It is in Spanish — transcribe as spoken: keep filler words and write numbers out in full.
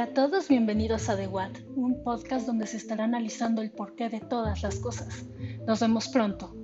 a todos, bienvenidos a The What, un podcast donde se estará analizando el porqué de todas las cosas. Nos vemos pronto.